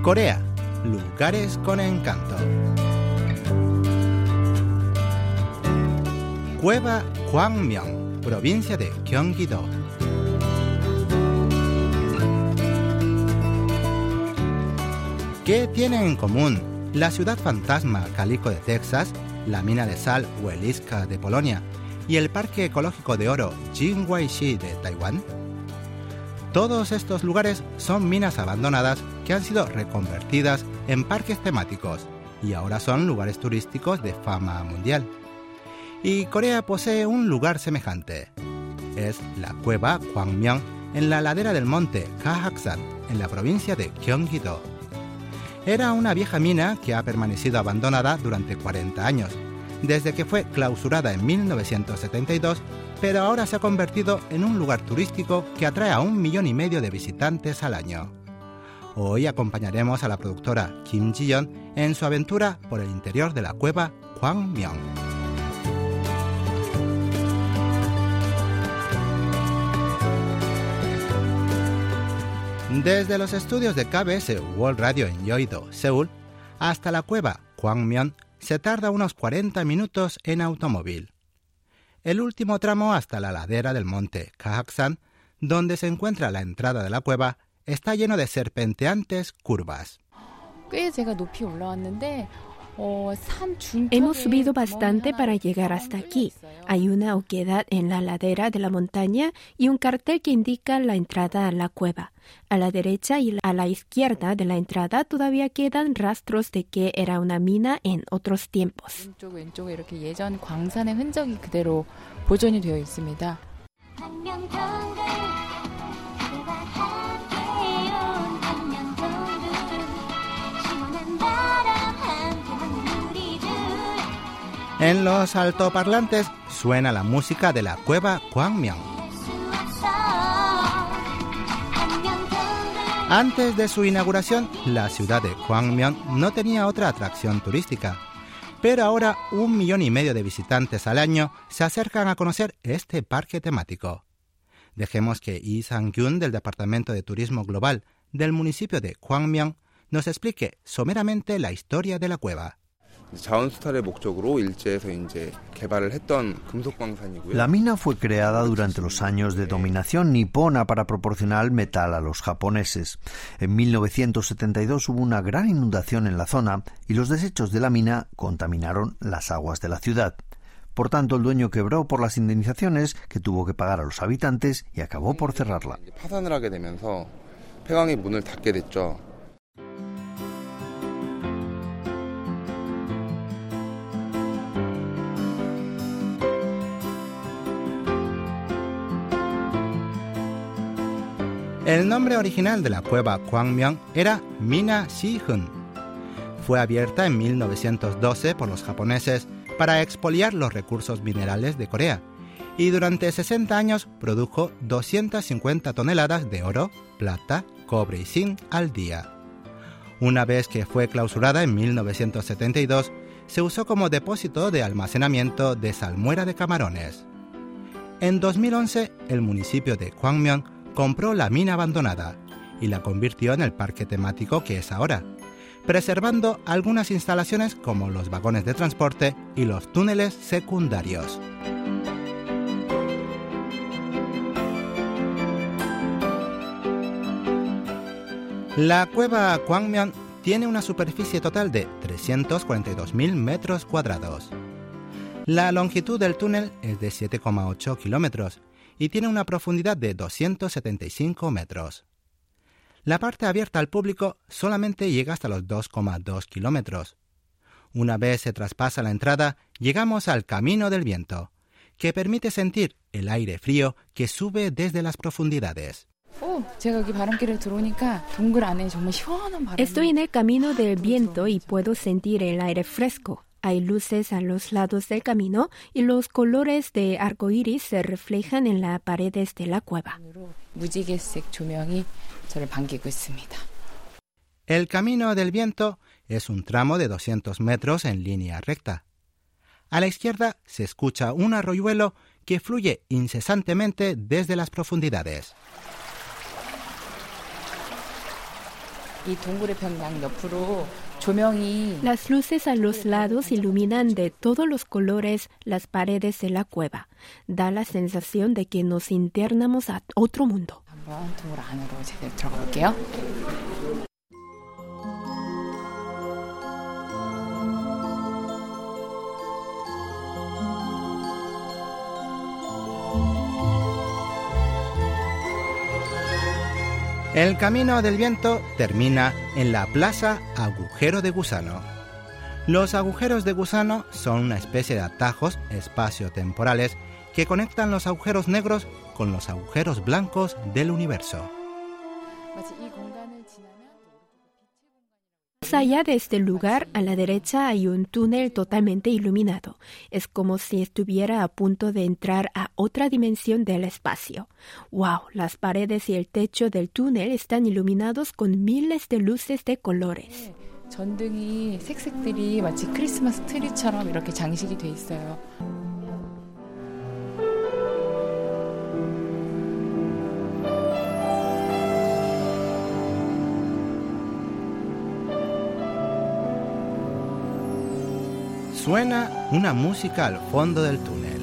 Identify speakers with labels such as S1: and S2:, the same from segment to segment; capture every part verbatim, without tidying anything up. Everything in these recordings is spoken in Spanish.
S1: Corea, lugares con encanto. Cueva Gwangmyeong, provincia de Gyeonggi-do. ¿Qué tienen en común la ciudad fantasma Calico de Texas, la mina de sal Weliska de Polonia y el parque ecológico de oro Jinguishi de Taiwán? Todos estos lugares son minas abandonadas que han sido reconvertidas en parques temáticos y ahora son lugares turísticos de fama mundial. Y Corea posee un lugar semejante. Es la cueva Gwangmyeong en la ladera del monte Gahaksan, en la provincia de Gyeonggi-do. Era una vieja mina que ha permanecido abandonada durante cuarenta años, desde que fue clausurada en mil novecientos setenta y dos, pero ahora se ha convertido en un lugar turístico que atrae a un millón y medio de visitantes al año. Hoy acompañaremos a la productora Kim Ji-yeon en su aventura por el interior de la cueva Gwangmyeong. Desde los estudios de K B S World Radio en Yeouido, Seúl, hasta la cueva Gwangmyeong se tarda unos cuarenta minutos en automóvil. El último tramo hasta la ladera del monte Gahaksan, donde se encuentra la entrada de la cueva, está lleno de serpenteantes curvas.
S2: Hemos subido bastante para llegar hasta aquí. Hay una oquedad en la ladera de la montaña y un cartel que indica la entrada a la cueva. A la derecha y a la izquierda de la entrada todavía quedan rastros de que era una mina en otros tiempos.
S1: En los altoparlantes suena la música de la cueva Gwangmyeong. Antes de su inauguración, la ciudad de Gwangmyeong no tenía otra atracción turística, pero ahora un millón y medio de visitantes al año se acercan a conocer este parque temático. Dejemos que Lee Sang-kyun del Departamento de Turismo Global del municipio de Gwangmyeong nos explique someramente la historia de la cueva.
S3: La mina fue creada durante los años de dominación nipona para proporcionar metal a los japoneses. En mil novecientos setenta y dos hubo una gran inundación en la zona y los desechos de la mina contaminaron las aguas de la ciudad. Por tanto, el dueño quebró por las indemnizaciones que tuvo que pagar a los habitantes y acabó por cerrarla.
S1: El nombre original de la cueva Gwangmyeong era Mina Si-hun. Fue abierta en mil novecientos doce por los japoneses para expoliar los recursos minerales de Corea y durante sesenta años produjo doscientas cincuenta toneladas de oro, plata, cobre y zinc al día. Una vez que fue clausurada en mil novecientos setenta y dos, se usó como depósito de almacenamiento de salmuera de camarones. En dos mil once, el municipio de Gwangmyeong compró la mina abandonada y la convirtió en el parque temático que es ahora, preservando algunas instalaciones como los vagones de transporte y los túneles secundarios. La cueva Gwangmyeong tiene una superficie total de trescientos cuarenta y dos mil metros cuadrados. La longitud del túnel es de siete coma ocho kilómetros y tiene una profundidad de doscientos setenta y cinco metros. La parte abierta al público solamente llega hasta los dos coma dos kilómetros. Una vez se traspasa la entrada, llegamos al Camino del Viento, que permite sentir el aire frío que sube desde las profundidades.
S2: Estoy en el Camino del Viento y puedo sentir el aire fresco. Hay luces a los lados del camino y los colores de arcoíris se reflejan en las paredes de la cueva.
S1: El Camino del Viento es un tramo de doscientos metros en línea recta. A la izquierda se escucha un arroyuelo que fluye incesantemente desde las profundidades.
S2: Las luces a los lados iluminan de todos los colores las paredes de la cueva. Da la sensación de que nos internamos a otro mundo.
S1: El camino del viento termina en la Plaza Agujero de Gusano. Los agujeros de gusano son una especie de atajos espaciotemporales que conectan los agujeros negros con los agujeros blancos del universo.
S2: Más allá de este lugar, a la derecha hay un túnel totalmente iluminado. Es como si estuviera a punto de entrar a otra dimensión del espacio. ¡Wow! Las paredes y el techo del túnel están iluminados con miles de luces de colores.
S4: 전등이 색색들이 마치 크리스마스 트리처럼 이렇게 장식이 돼 있어요.
S1: Suena una música al fondo del túnel.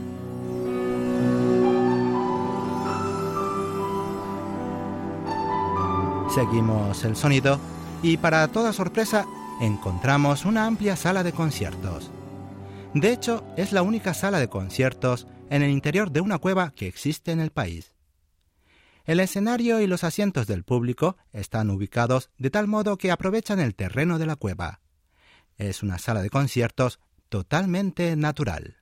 S1: Seguimos el sonido y, para toda sorpresa, encontramos una amplia sala de conciertos. De hecho, es la única sala de conciertos en el interior de una cueva que existe en el país. El escenario y los asientos del público están ubicados de tal modo que aprovechan el terreno de la cueva. Es una sala de conciertos totalmente natural.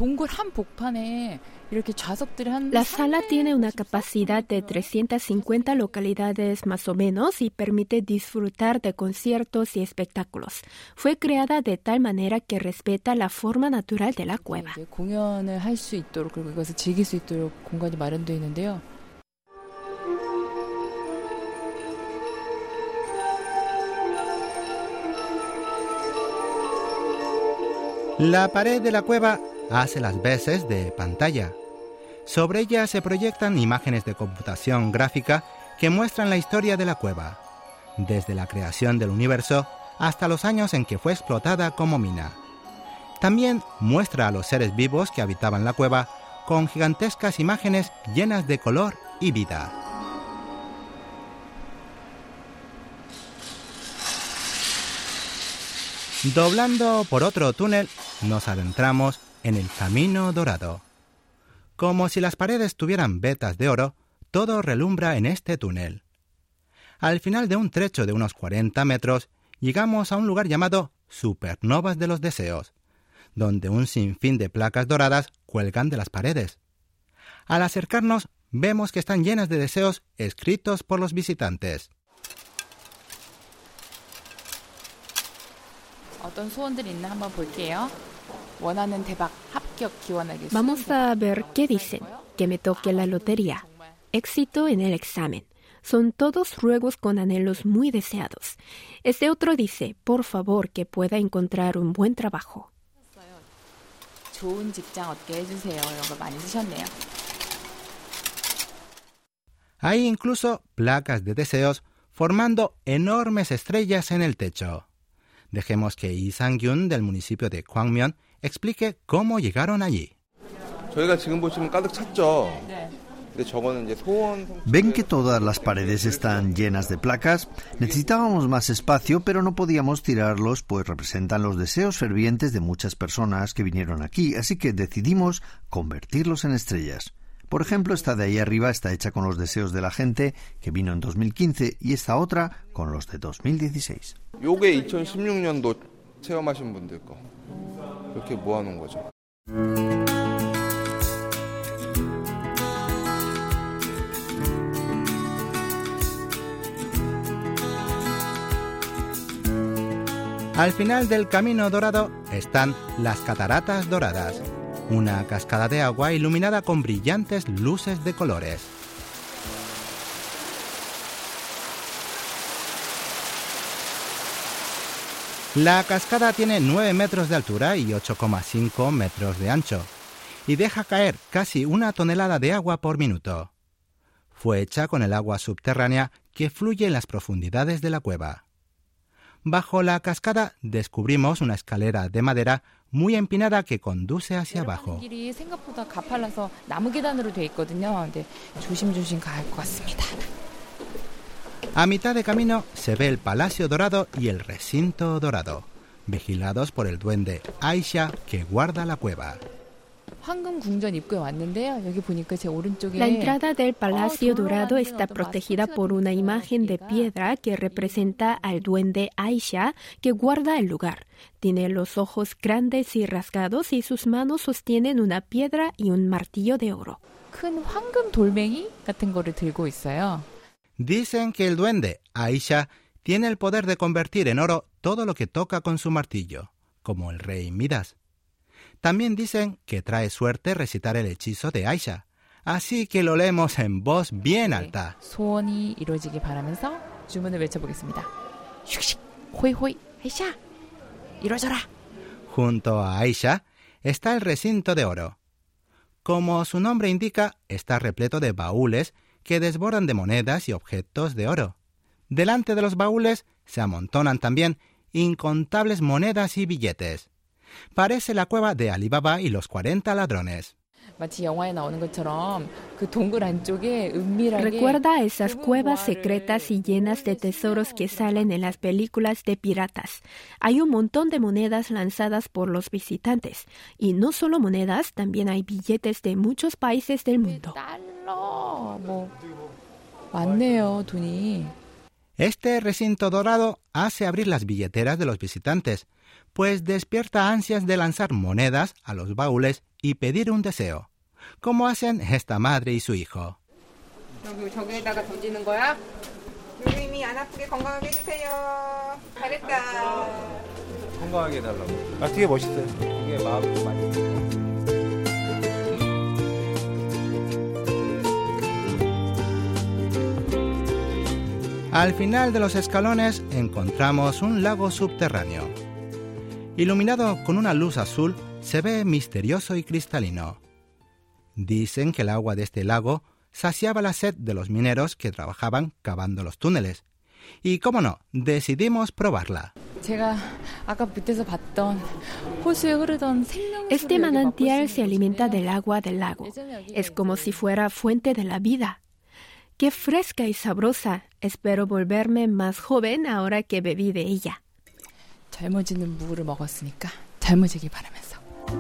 S2: La sala tiene una capacidad de trescientas cincuenta localidades más o menos y permite disfrutar de conciertos y espectáculos. Fue creada de tal manera que respeta la forma natural de la cueva.
S1: La pared de la cueva hace las veces de pantalla. Sobre ella se proyectan imágenes de computación gráfica que muestran la historia de la cueva, desde la creación del universo hasta los años en que fue explotada como mina. También muestra a los seres vivos que habitaban la cueva con gigantescas imágenes llenas de color y vida. Doblando por otro túnel, nos adentramos en el Camino Dorado. Como si las paredes tuvieran vetas de oro, todo relumbra en este túnel. Al final de un trecho de unos cuarenta metros, llegamos a un lugar llamado Supernovas de los Deseos, donde un sinfín de placas doradas cuelgan de las paredes. Al acercarnos, vemos que están llenas de deseos escritos por los visitantes.
S2: Vamos a ver qué dicen. Que me toque la lotería. Éxito en el examen. Son todos ruegos con anhelos muy deseados. Este otro dice, por favor, que pueda encontrar un buen trabajo.
S1: Hay incluso placas de deseos formando enormes estrellas en el techo. Dejemos que Lee Sang-gyun del municipio de Gwangmyeon explique cómo llegaron allí.
S3: ¿Ven que todas las paredes están llenas de placas? Necesitábamos más espacio, pero no podíamos tirarlos, pues representan los deseos fervientes de muchas personas que vinieron aquí, así que decidimos convertirlos en estrellas. Por ejemplo, esta de ahí arriba está hecha con los deseos de la gente que vino en dos mil quince y esta otra con los de dos mil dieciséis.
S1: Al final del Camino Dorado están las Cataratas Doradas, una cascada de agua iluminada con brillantes luces de colores. La cascada tiene nueve metros de altura y ocho coma cinco metros de ancho, y deja caer casi una tonelada de agua por minuto. Fue hecha con el agua subterránea que fluye en las profundidades de la cueva. Bajo la cascada descubrimos una escalera de madera muy empinada que conduce hacia abajo.
S4: 길이 생각보다 가팔라서 나무 계단으로 돼 있거든요. 근데 조심조심 가야 할 것 같습니다.
S1: A mitad de camino se ve el Palacio Dorado y el Recinto Dorado, vigilados por el duende Aisha que guarda la cueva.
S4: 황금 궁전 입구에 왔는데요. 여기 보니까 제 오른쪽에
S2: La entrada del Palacio Dorado está protegida por una imagen de piedra que representa al duende Aisha que guarda el lugar. Tiene los ojos grandes y rasgados y sus manos sostienen una piedra y un martillo de oro.
S4: 큰 황금 돌멩이 같은 거를 들고 있어요.
S1: Dicen que el duende Aisha tiene el poder de convertir en oro todo lo que toca con su martillo, como el rey Midas. También dicen que trae suerte recitar el hechizo de Aisha, así que lo leemos en voz bien alta.
S4: 소원이 이루어지길 바라면서 주문을 외쳐보겠습니다. 슉슉 호이호이 아이샤 이루어져라.
S1: Junto a Aisha está el recinto de oro. Como su nombre indica, está repleto de baúles que desbordan de monedas y objetos de oro. Delante de los baúles se amontonan también incontables monedas y billetes. Parece la cueva de Alibaba y los cuarenta ladrones.
S4: 마치 영화에 나오는 것처럼 그 동굴 안쪽에 은밀하게
S2: Recuerda esas cuevas secretas y llenas de tesoros que salen en las películas de piratas. Hay un montón de monedas lanzadas por los visitantes. Y no solo monedas, también hay billetes de muchos países del mundo.
S4: 달러 뭐 많네요 돈이.
S1: Este recinto dorado hace abrir las billeteras de los visitantes, pues despierta ansias de lanzar monedas a los baúles y pedir un deseo, como hacen esta madre y su hijo.
S5: 여기 저기에다가 던지는 거야? 누님이 안 아프게 건강하게 해주세요. 잘했다.
S6: 건강하게 해달라고. 아, 되게 멋있어요. 이게 마음이 많이.
S1: Al final de los escalones encontramos un lago subterráneo. Iluminado con una luz azul, se ve misterioso y cristalino. Dicen que el agua de este lago saciaba la sed de los mineros que trabajaban cavando los túneles. Y, cómo no, decidimos probarla.
S4: 제가 아까 밑에서 봤던 호수에 흐르던 생명수를
S2: Este manantial se alimenta del agua del lago. Es como si fuera fuente de la vida. ¡Qué fresca y sabrosa! Espero volverme más joven ahora que bebí de ella.
S4: 젊어지는 물을 먹었으니까 젊어지길 바라면서.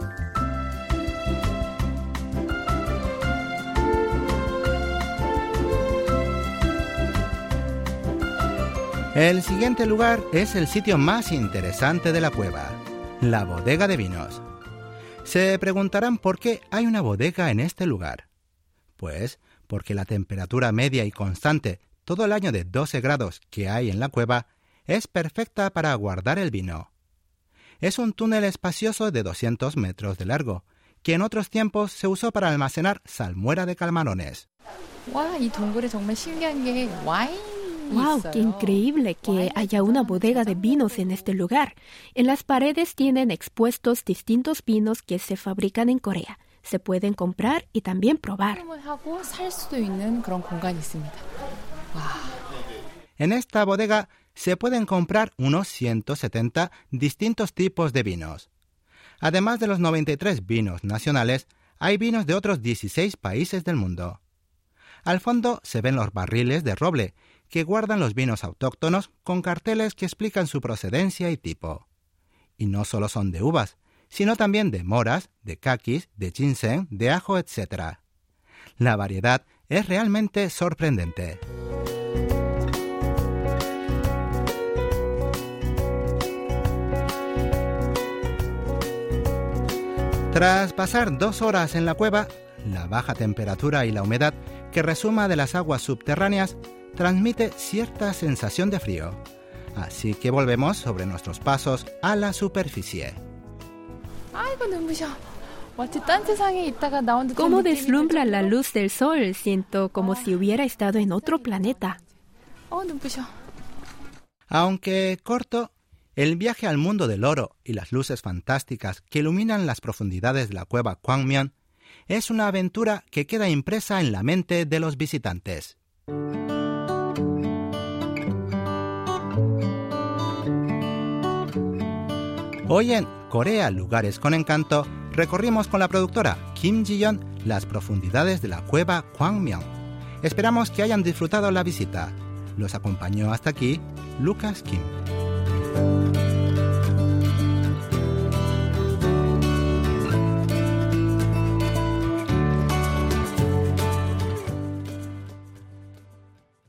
S1: El siguiente lugar es el sitio más interesante de la cueva, la bodega de vinos. Se preguntarán por qué hay una bodega en este lugar. Pues porque la temperatura media y constante todo el año de doce grados que hay en la cueva es perfecta para guardar el vino. Es un túnel espacioso de doscientos metros de largo, que en otros tiempos se usó para almacenar salmuera de camarones.
S4: 와, 이 동굴에 정말 신기한 게 와인이
S2: ¡Wow! ¡Qué increíble que haya una bodega de vinos en este lugar! En las paredes tienen expuestos distintos vinos que se fabrican en Corea. Se pueden comprar y también probar.
S4: 하고 살 수도 있는 그런 공간이 있습니다.
S1: En esta bodega se pueden comprar unos ciento setenta distintos tipos de vinos. Además de los noventa y tres vinos nacionales, hay vinos de otros dieciséis países del mundo. Al fondo se ven los barriles de roble, que guardan los vinos autóctonos con carteles que explican su procedencia y tipo. Y no solo son de uvas, sino también de moras, de caquis, de ginseng, de ajo, etcétera. La variedad es realmente sorprendente. Tras pasar dos horas en la cueva, la baja temperatura y la humedad que resuma de las aguas subterráneas transmite cierta sensación de frío. Así que volvemos sobre nuestros pasos a la superficie.
S4: 아이고 눈부셔. 마치 딴 세상에 있다가 나온 듯한
S2: Cómo
S4: 느낌이
S2: deslumbra
S4: 들
S2: la
S4: 정도로.
S2: luz del sol. Siento como si hubiera estado en otro planeta.
S4: 어 눈부셔.
S1: Aunque corto, el viaje al mundo del oro y las luces fantásticas que iluminan las profundidades de la cueva Kwangmyeon es una aventura que queda impresa en la mente de los visitantes. Hoy en Corea, lugares con encanto, recorrimos con la productora Kim Ji-yeon las profundidades de la cueva Gwangmyeong. Esperamos que hayan disfrutado la visita. Los acompañó hasta aquí Lucas Kim.